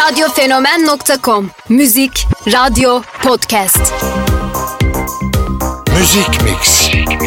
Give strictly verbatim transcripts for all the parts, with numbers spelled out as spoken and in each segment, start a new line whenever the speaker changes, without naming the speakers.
radyofenomen nokta com. Müzik, radyo, podcast.
Müzik Mix.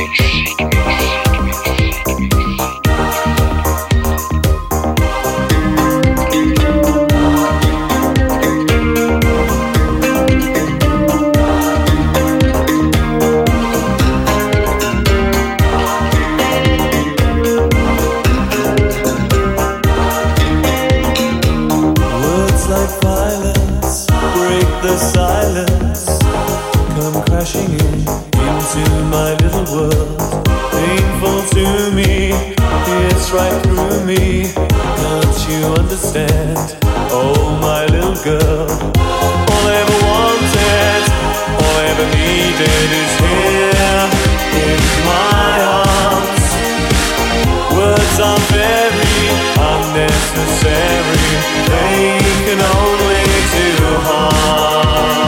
The silence come crashing in into my little world. Painful to me, it's right through me. Can't you understand? Oh, my little girl. All I ever wanted, all I ever needed is here in my arms. Words are very unnecessary. They can only do harm.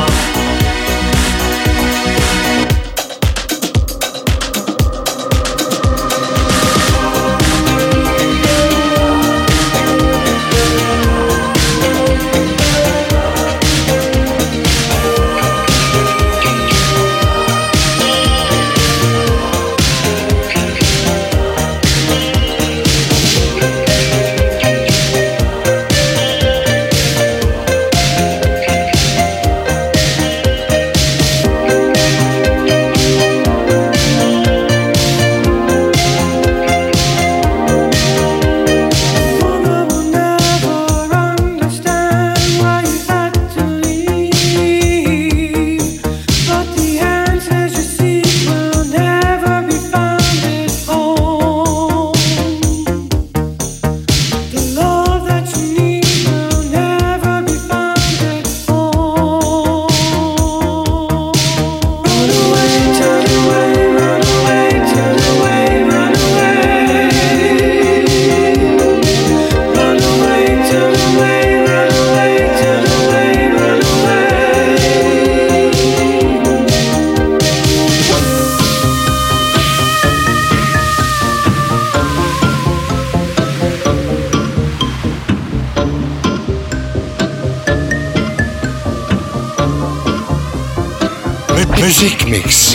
Müzik Mix.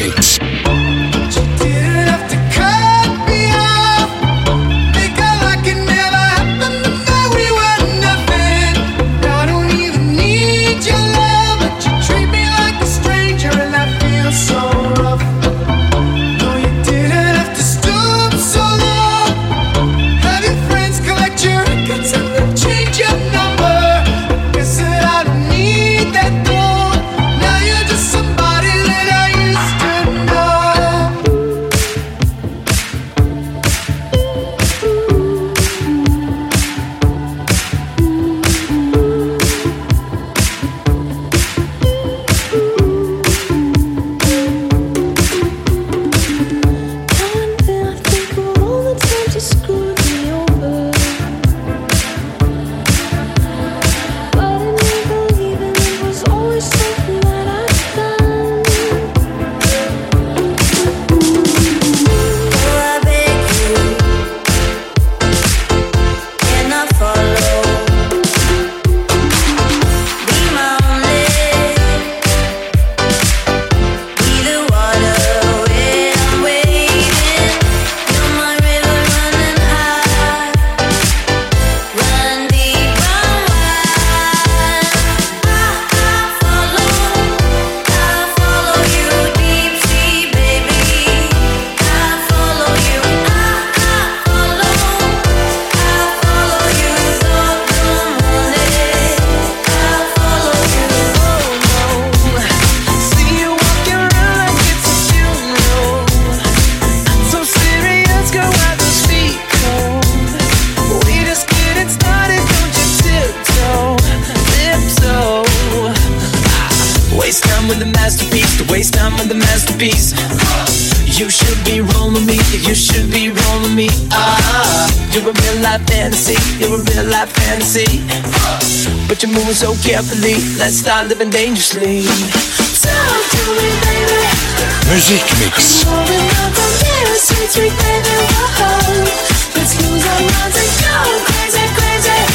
You should be rolling me, you should be rolling me. Ah, you're a real life fantasy, you're a real life fantasy. But you're moving so carefully, let's start living dangerously. Talk to me, baby.
Müzik Mix.
I'm rolling up on this, sweet, sweet baby, whoa. Let's lose our minds and go crazy, crazy.